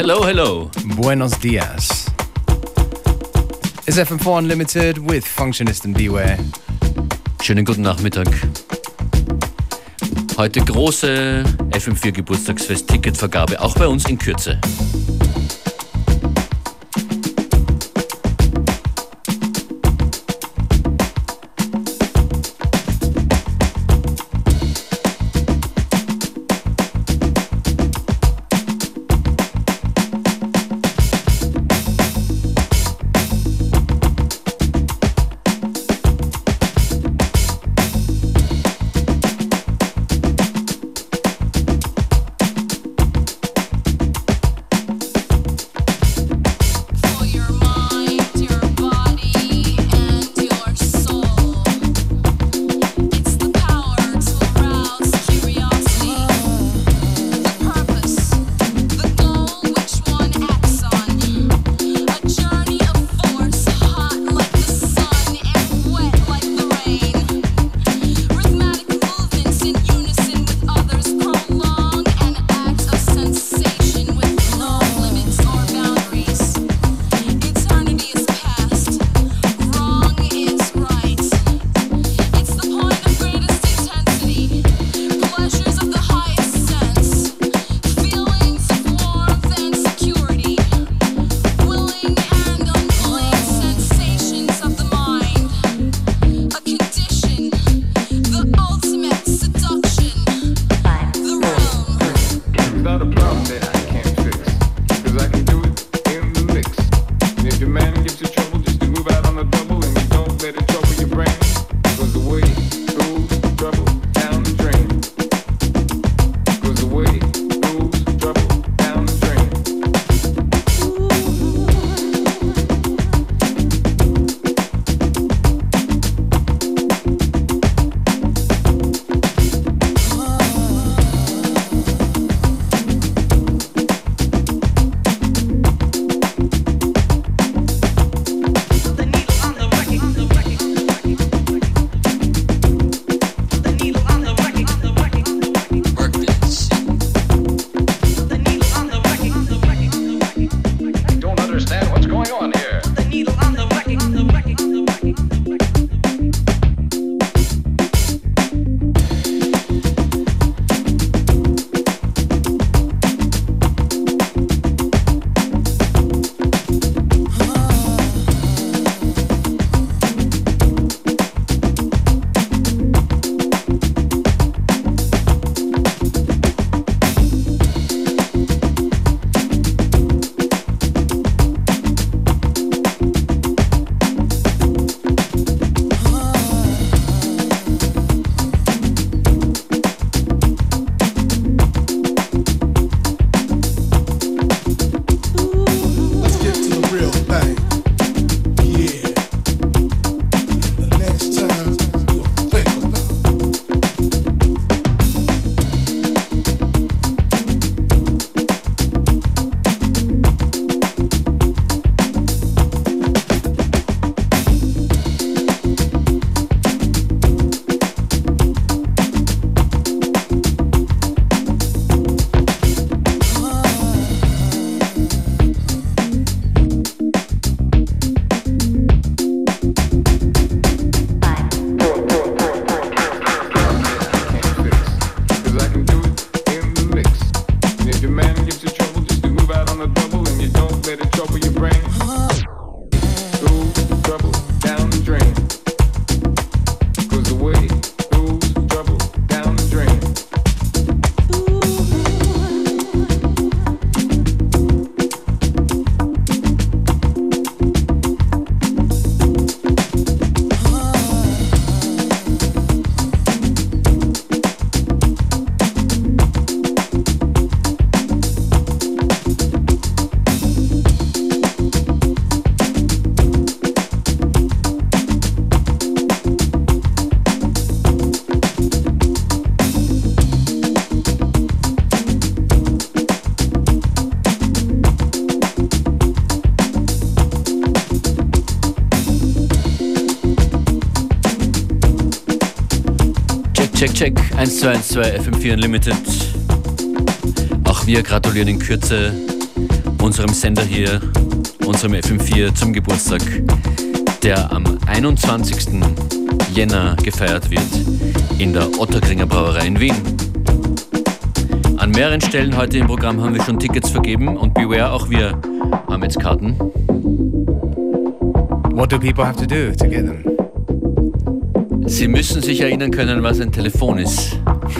Hello, hello. Buenos dias. It's FM4 Unlimited with Functionist and Beware. Schönen guten Nachmittag. Heute große FM4 Geburtstagsfest Ticketvergabe, auch bei uns in Kürze. Check 1212 FM4 Unlimited. Auch wir gratulieren in Kürze unserem Sender hier, unserem FM4 zum Geburtstag, der am 21. Jänner gefeiert wird in der Ottakringer Brauerei in Wien. An mehreren Stellen heute im Programm haben wir schon Tickets vergeben und Beware, auch wir haben jetzt Karten. What do people have to do to get them? Sie müssen sich erinnern können, was ein Telefon ist.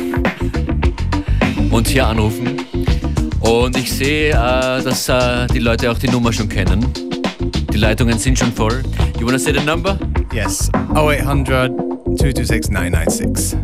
Und hier anrufen. Und ich sehe, dass die Leute auch die Nummer schon kennen. Die Leitungen sind schon voll. You wanna say the number? Yes, 0800 226 996.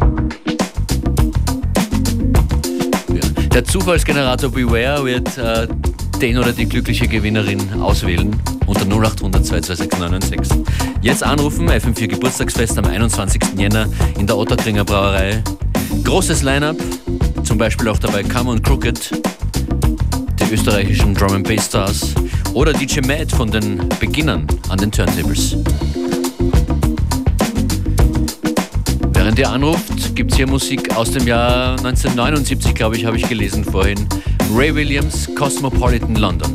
Ja. Der Zufallsgenerator Beware wird den oder die glückliche Gewinnerin auswählen unter 0800 226 996. Jetzt anrufen, FM4 Geburtstagsfest am 21. Jänner in der Ottakringer Brauerei. Großes Line-Up, zum Beispiel auch dabei Come on Crooked, die österreichischen Drum and Bass Stars oder DJ Matt von den Beginnern an den Turntables. Während ihr anruft, gibt es hier Musik aus dem Jahr 1979, glaube ich, habe ich gelesen vorhin. Ray Williams, Cosmopolitan London.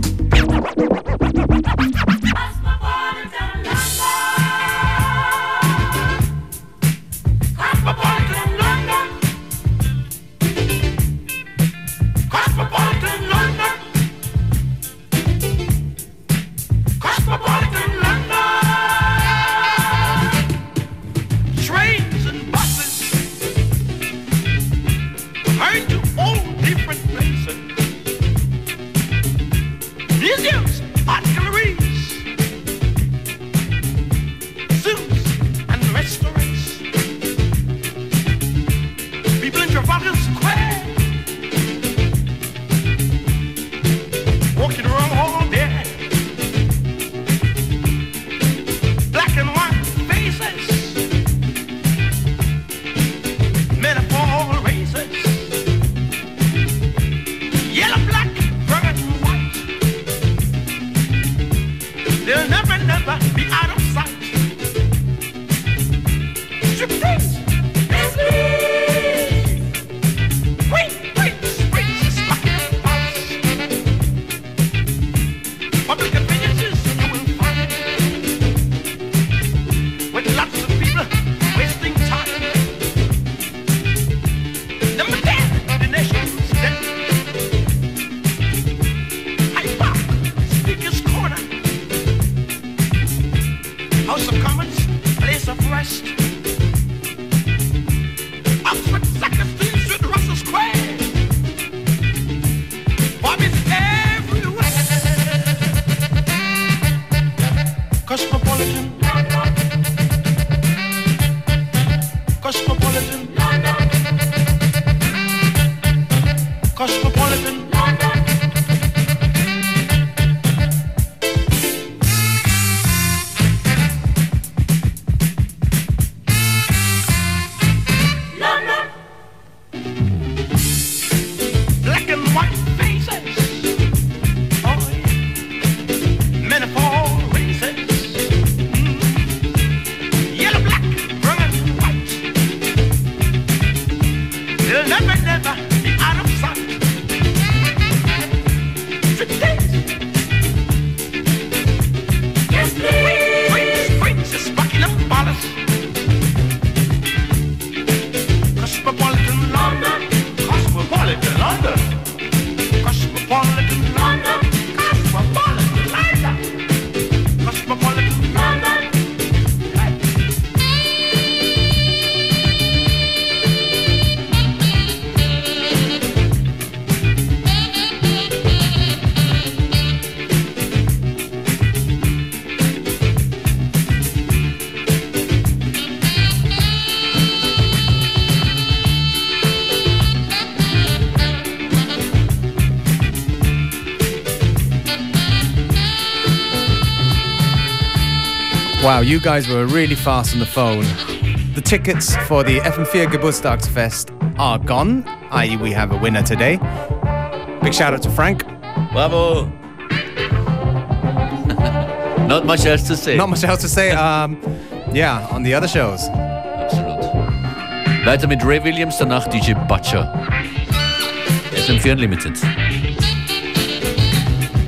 Wow, you guys were really fast on the phone. The tickets for the FM4 Geburtstagsfest are gone, i.e. we have a winner today. Big shout out to Frank. Bravo! Not much else to say. Not much else to say. Yeah, on the other shows. Absolut. Weiter mit Ray Williams, danach DJ Butcher. FM4 Unlimited.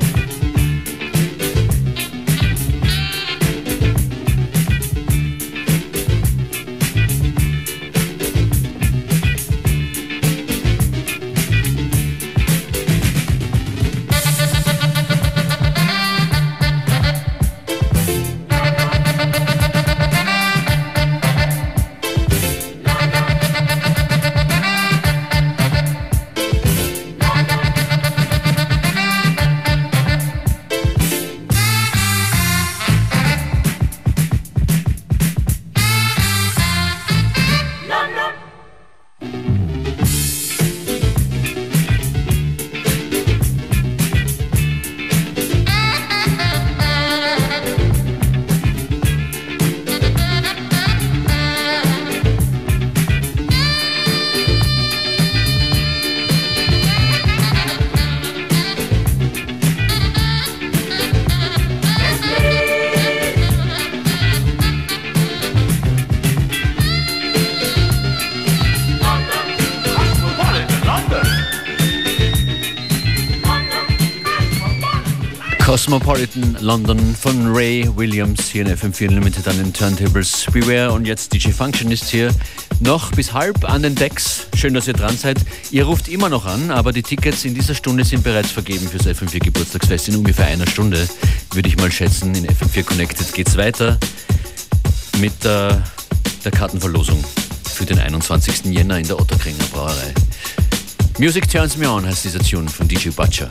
Cosmopolitan London von Ray Williams hier in FM4 Unlimited an den Turntables. Beware und jetzt DJ Function ist hier noch bis halb an den Decks. Schön, dass ihr dran seid. Ihr ruft immer noch an, aber die Tickets in dieser Stunde sind bereits vergeben fürs FM4 Geburtstagsfest. In ungefähr einer Stunde, würde ich mal schätzen. In FM4 Connected geht's weiter mit der Kartenverlosung für den 21. Jänner in der Otterkringer Brauerei. Music Turns Me On heißt dieser Tune von DJ Butcher.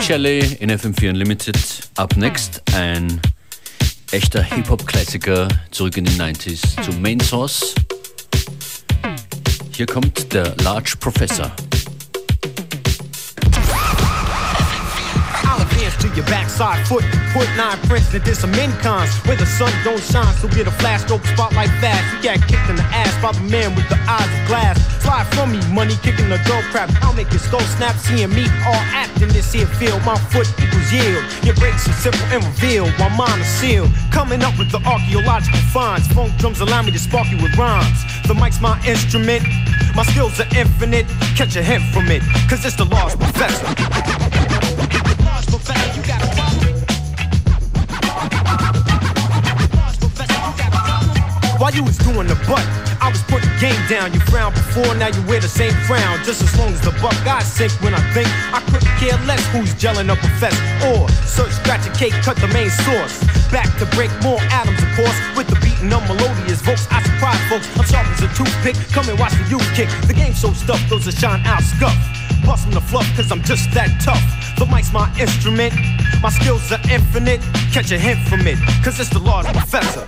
Shelley in FM4 Unlimited. Up next ein echter Hip-Hop-Klassiker zurück in die 90s zu Main Source. Hier kommt der Large Professor. To your backside foot, put 9 prints that did some incons where the sun don't shine, so get a flash stroke spotlight fast. You got kicked in the ass by the man with the eyes of glass. Slide from me, money kicking the dope crap. I'll make your skull snap, seeing me all act in this here field. My foot equals yield. Your breaks are simple and revealed, while mine are sealed. Coming up with the archaeological finds. Funk drums allow me to spark you with rhymes. The mic's my instrument. My skills are infinite. Catch a hint from it, cause it's the Large Professor. While you was doing the butt, I was putting game down. You frowned before, now you wear the same frown. Just as long as the buck I sink when I think, I couldn't care less who's gelling up a fest. Or search, scratch a cake, cut the main source. Back to break more atoms, of course. With the beating of melodious vocals, I surprise folks. I'm sharp as a toothpick, come and watch the youth kick. The game's so stuffed, those that shine out scuff. Bustin' the fluff, cause I'm just that tough. The mic's my instrument, my skills are infinite. Catch a hint from it, cause it's the Large Professor.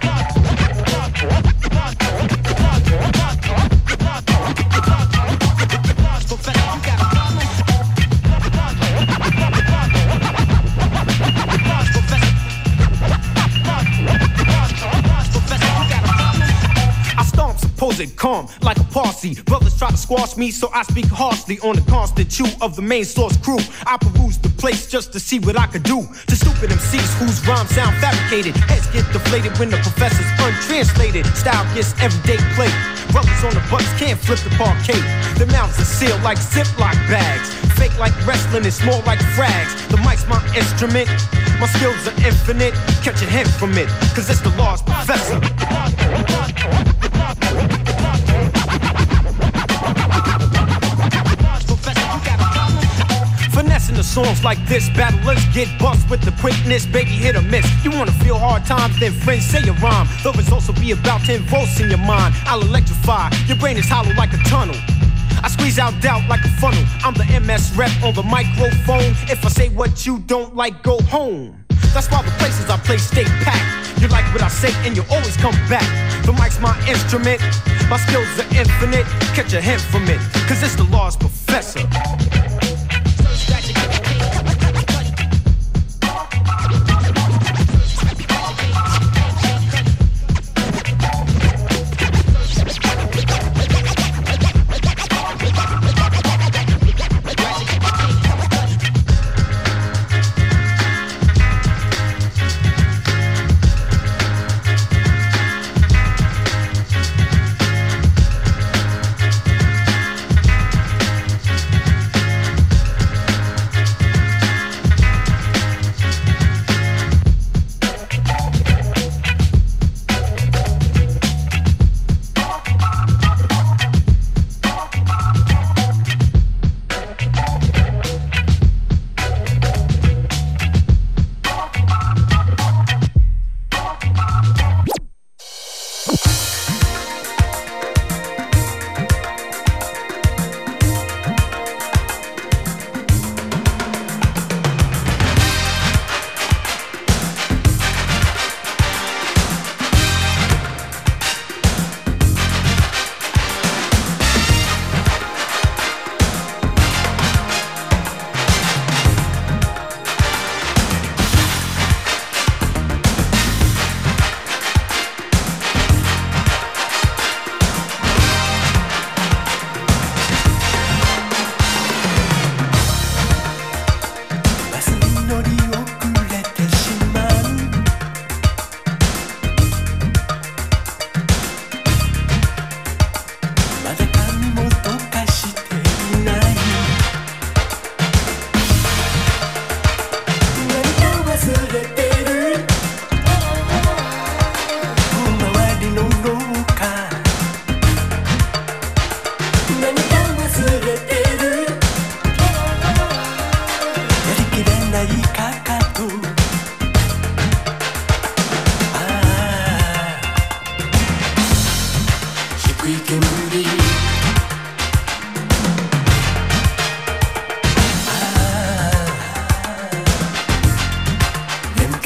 Supposed calm like a Parsi. Brothers try to squash me, so I speak harshly on the constant chew of the Main Source crew. I peruse the place just to see what I could do to stupid MCs whose rhymes sound fabricated. Heads get deflated when the professor's untranslated. Style gets everyday play. Brothers on the bus can't flip the parquet. Their mouths are sealed like Ziploc bags. Fake like wrestling, it's more like frags. The mic's my instrument, my skills are infinite. Catch a hint from it, cause it's the Large Professor. Finessing the songs like this, battlers get bust with the quickness, baby hit or miss. You wanna feel hard times, then friends say a rhyme. Though it's also be about 10 volts in your mind. I'll electrify, your brain is hollow like a tunnel. I squeeze out doubt like a funnel. I'm the MS rep on the microphone. If I say what you don't like, go home. That's why the places I play stay packed. You like what I say and you always come back. The mic's my instrument, my skills are infinite. Catch a hint from it, cause it's the Large Professor.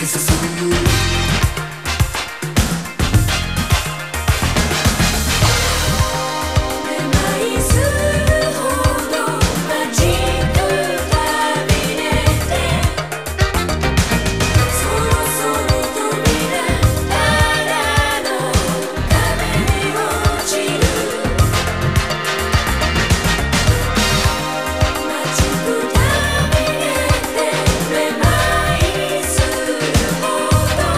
「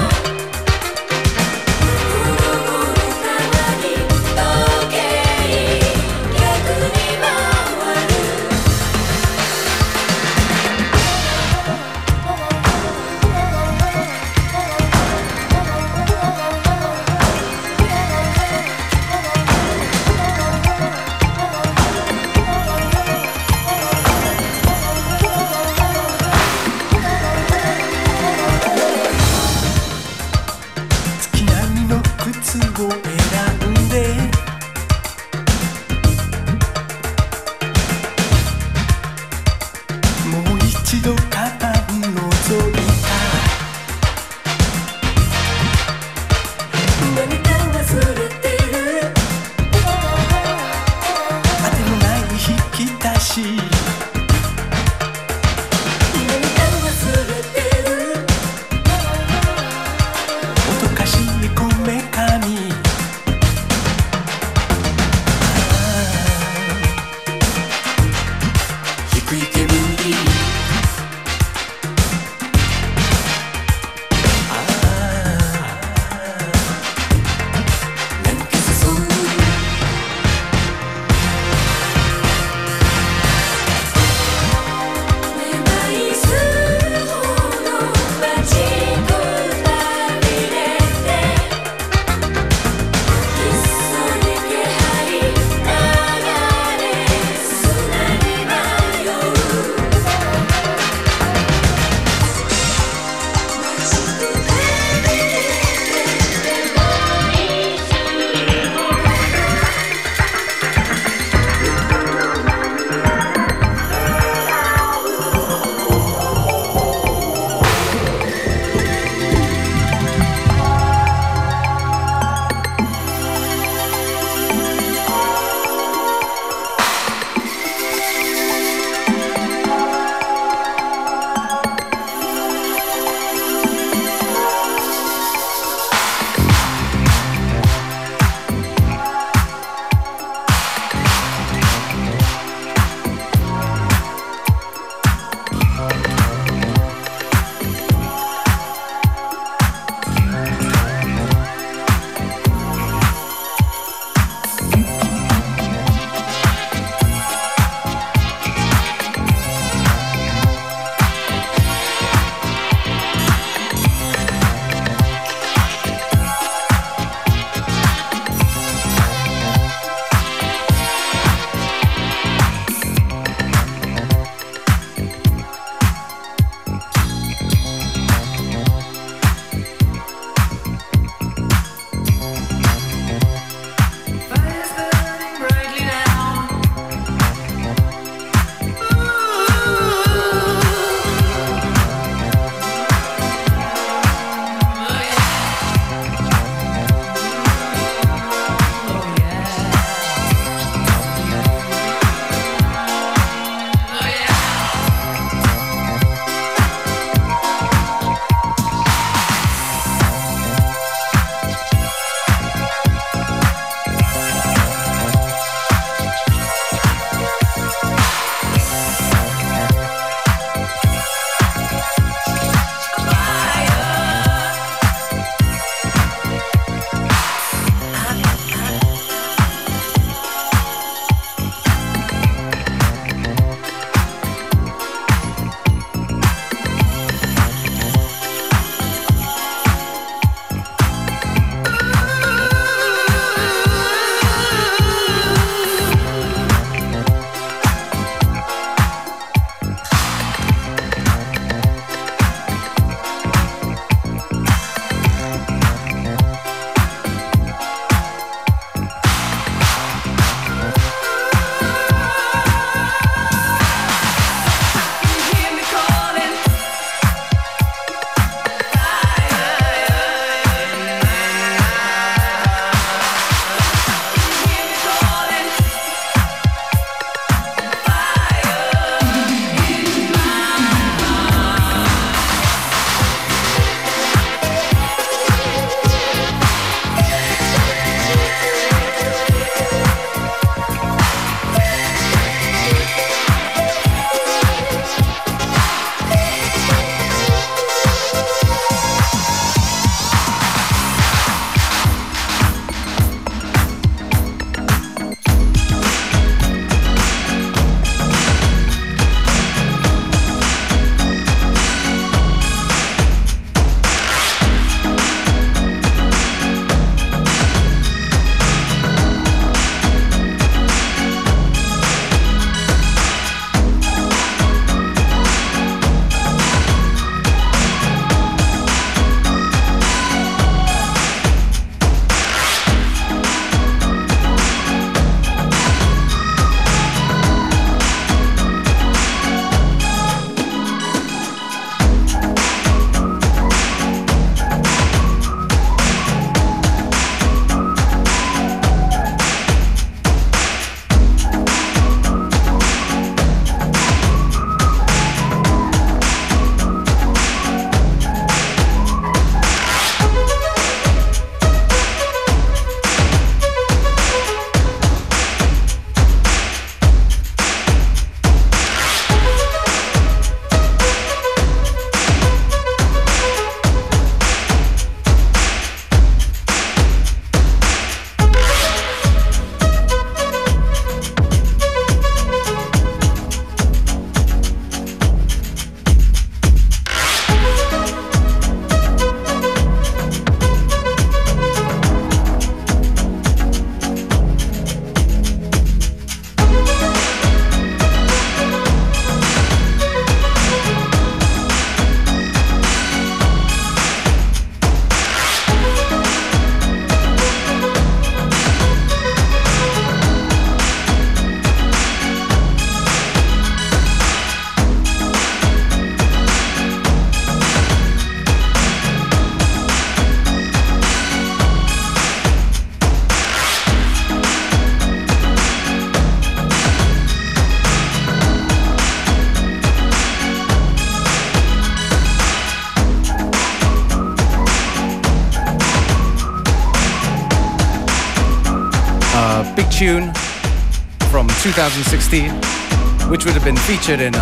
big tune from 2016, which would have been featured in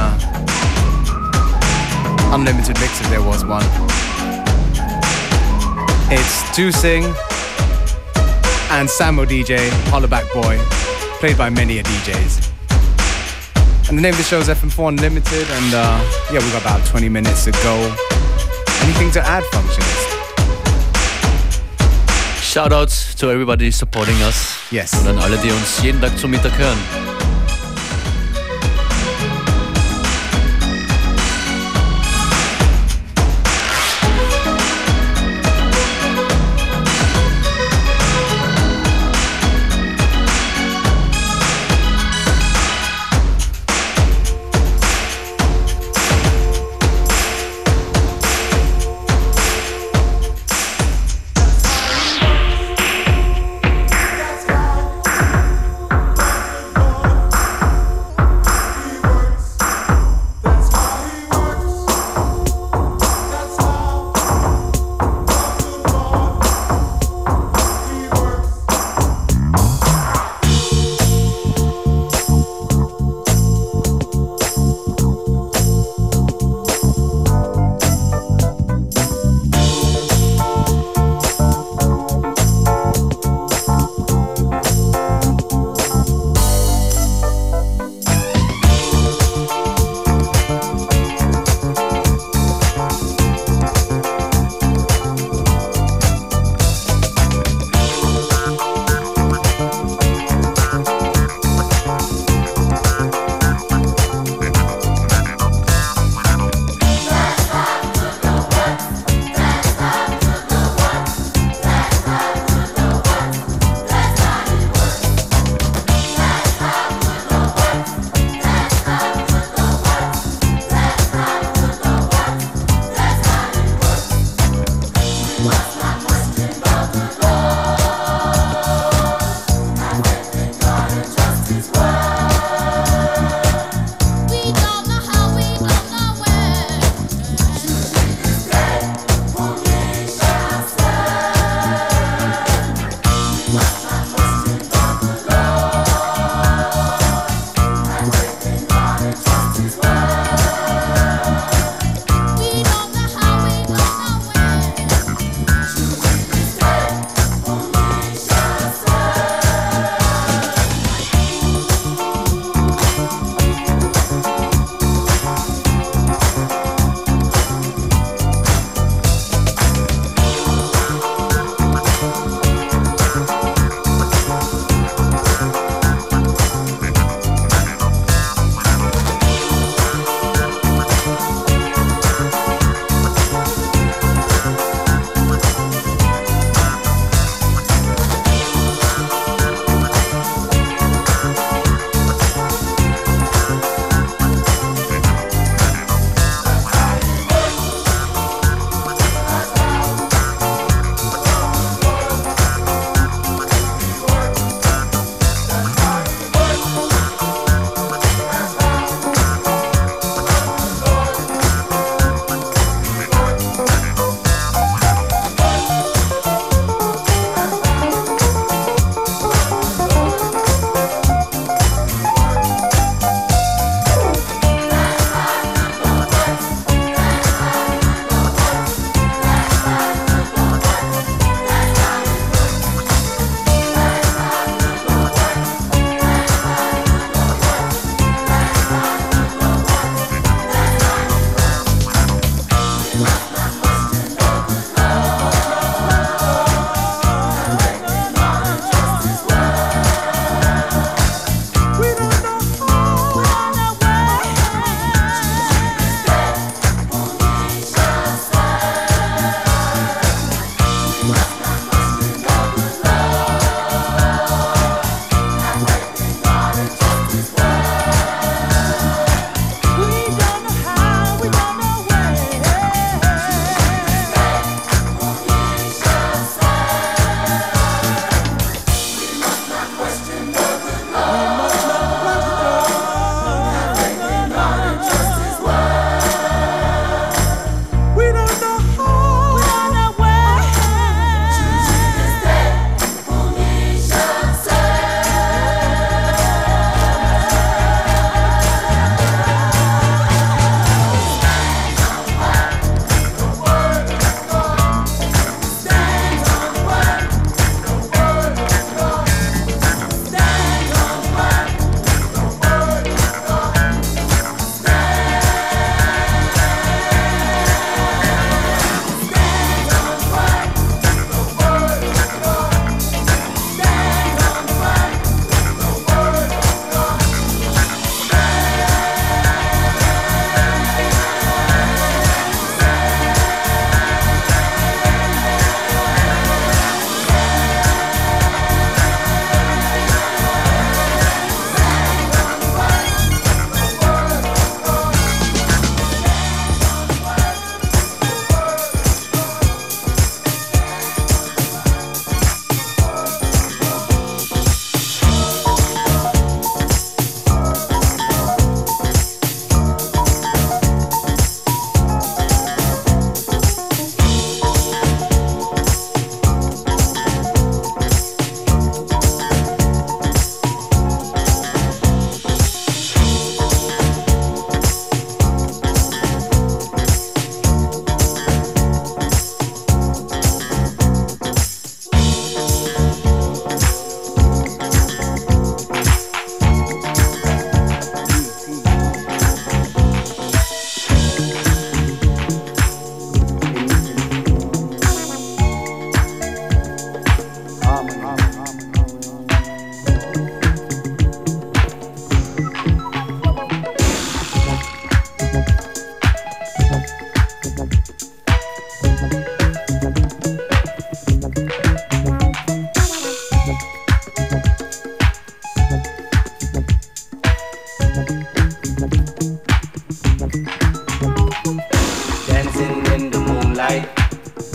Unlimited Mix if there was one. It's Do Sing and Samo DJ, Hollaback Boy, played by many a DJs. And the name of the show is FM4 Unlimited, and yeah, we've got about 20 minutes to go. Anything to add, Functionist? Shoutouts to everybody supporting us. Yes. Und an alle, die uns jeden Tag zum Mittag hören.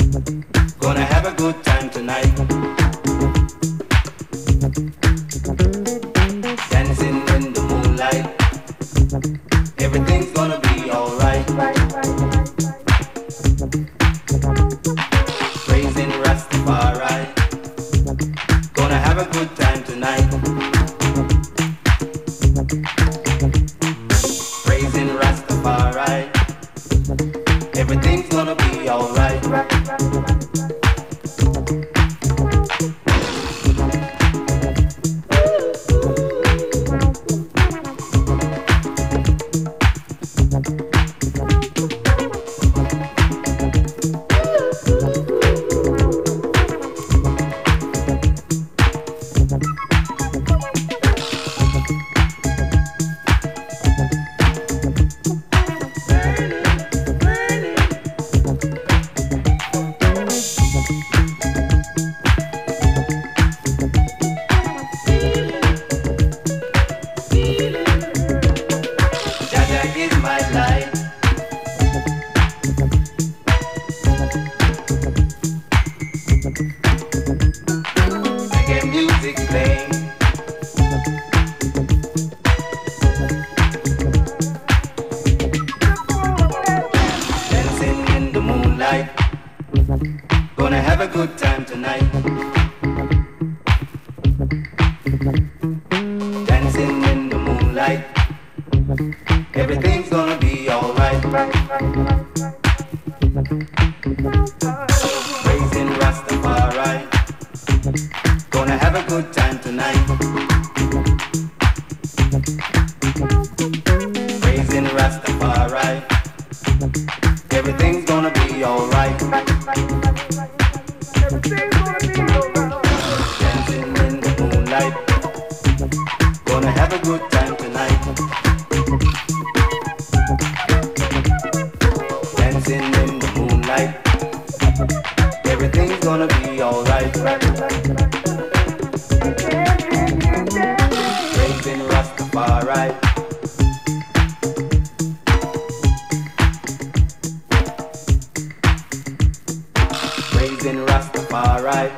Gonna have a good time tonight. Dancing in the moonlight. Everything's gonna be alright. Praising Rastafari. Gonna have a good time tonight. Praising Rastafari. Everything's gonna be alright. Gonna have a good time tonight. Dancing in the moonlight. Everything's gonna be alright. Praising Rastafari. Gonna have a good time tonight. Praising Rastafari. Everything's gonna be alright. Dancing in the moonlight. Gonna have a good time tonight. Dancing in the moonlight. Everything's gonna be alright. Praising Rastafari. Praising Rastafari.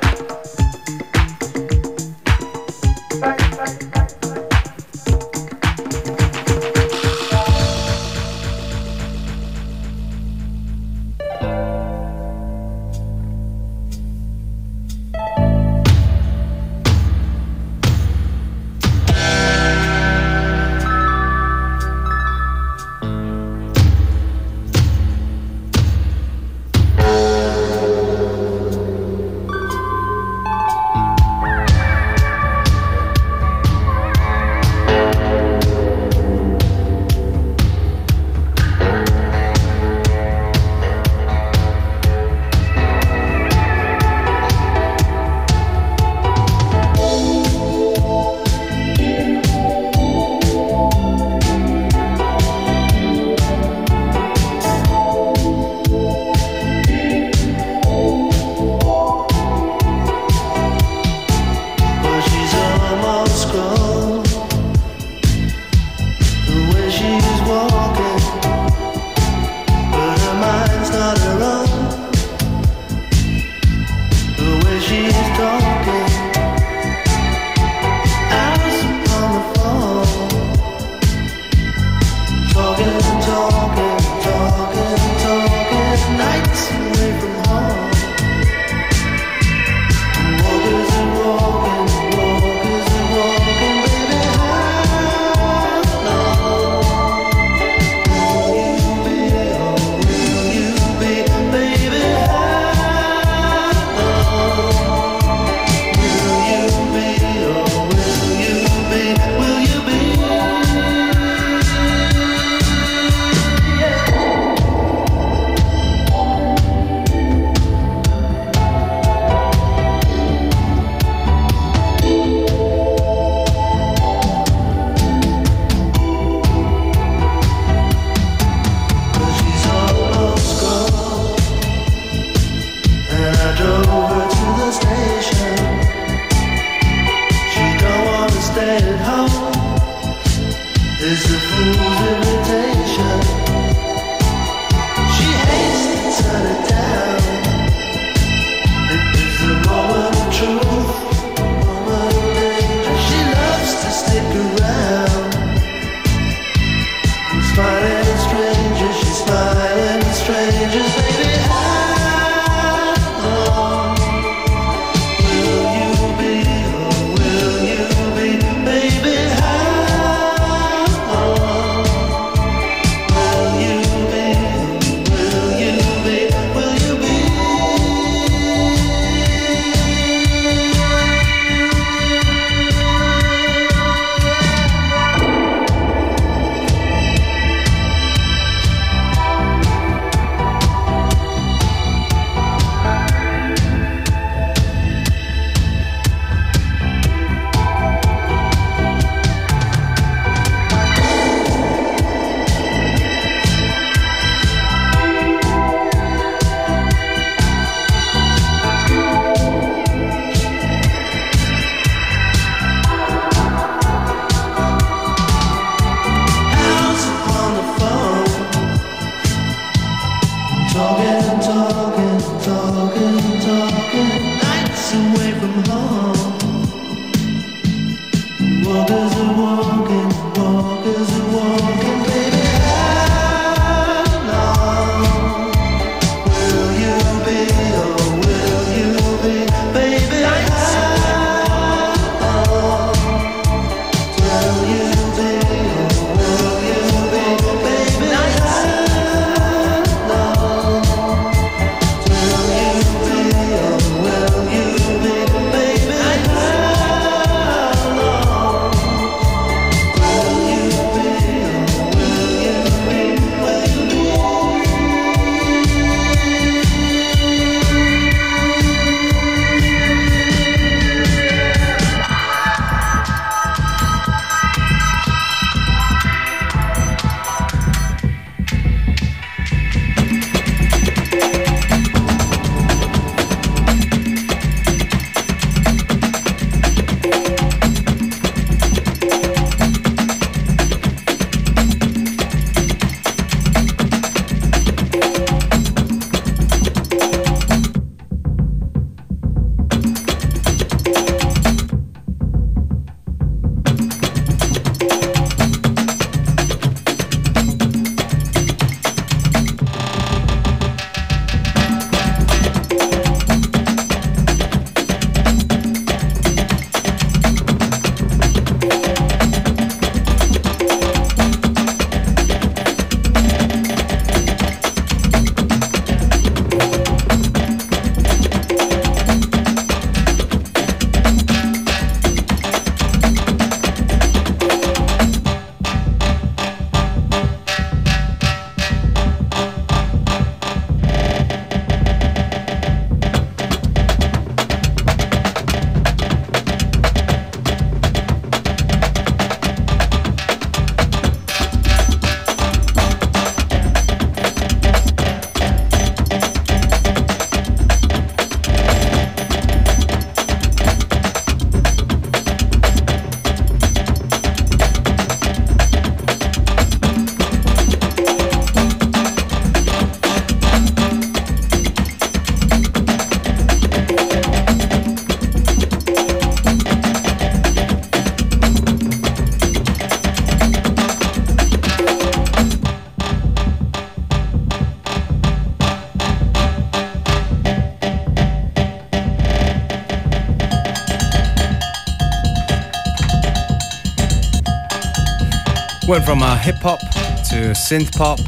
Went from hip hop to synth pop,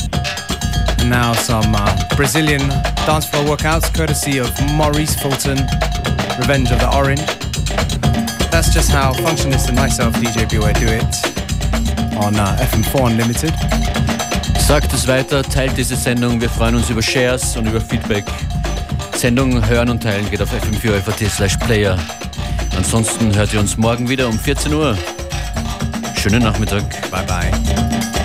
and now some Brazilian dance floor workouts courtesy of Maurice Fulton, Revenge of the Orange. That's just how Functionist and myself, DJ Beware, do it on FM4 Unlimited. Sagt es weiter, teilt diese Sendung, wir freuen uns über Shares und über Feedback. Sendung hören und teilen geht auf fm4.at/player. Ansonsten hört ihr uns morgen wieder um 14 Uhr. Schönen Nachmittag. Bye bye.